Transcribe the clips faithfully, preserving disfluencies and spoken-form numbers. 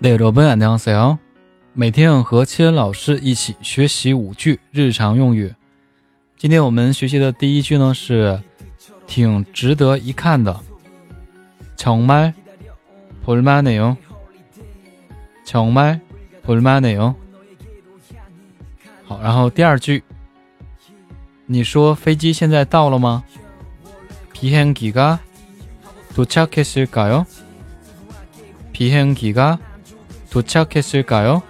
네 여러분 안녕하세요。每天和七恩老师一起学习五句日常用语。今天我们学习的第一句呢是挺值得一看的，정말 볼만해요。정말 볼만해요。好，然后第二句，你说飞机现在到了吗？비행기가 도착했을까요？비행기가 도착했을까요？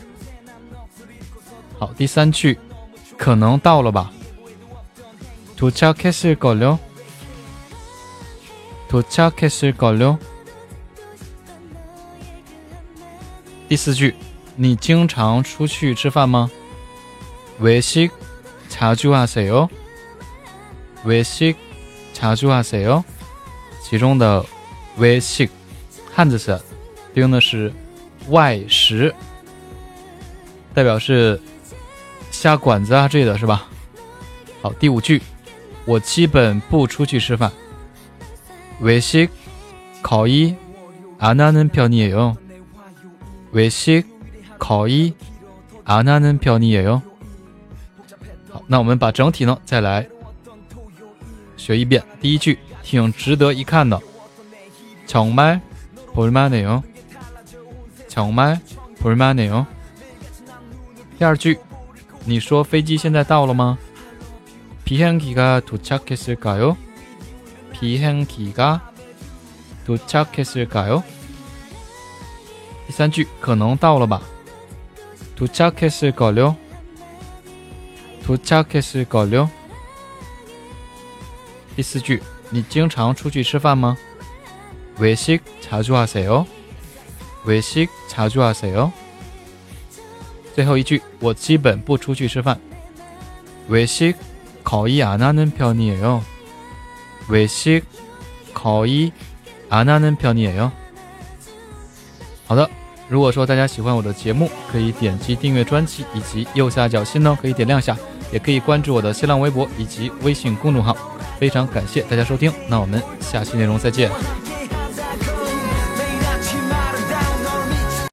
好，第三句，可能到了吧。도착했을걸요？도착했을걸요？第四句，你经常出去吃饭吗？외식 자주 하세요？외식 자주 하세요？其中的외식汉字词用的是外食，代表是下馆子啊之类的是吧？好，第五句，我基本不出去吃饭。외식 거의 안 하는 편이에요。외식 거의 안 하는 편이에요。好，那我们把整体呢再来学一遍。第一句，挺值得一看的，정말 볼만해요。정말 볼만해요。第二句，你说飞机现在到了吗？비행기가 도착했을까요？비행기가 도착했을까요？第三句，可能到了吧？도착했을걸요？도착했을걸요？第四句，你经常出去吃饭吗？외식 자주 하세요？외식 자주 하세요？最后一句，我基本不出去吃饭。외식 거의 안 하는 편이에요。외식 거의 안 하는 편이에요。好的，如果说大家喜欢我的节目，可以点击订阅专辑，以及右下角心呢可以点亮下，也可以关注我的新浪微博以及微信公众号。非常感谢大家收听，那我们下期内容再见。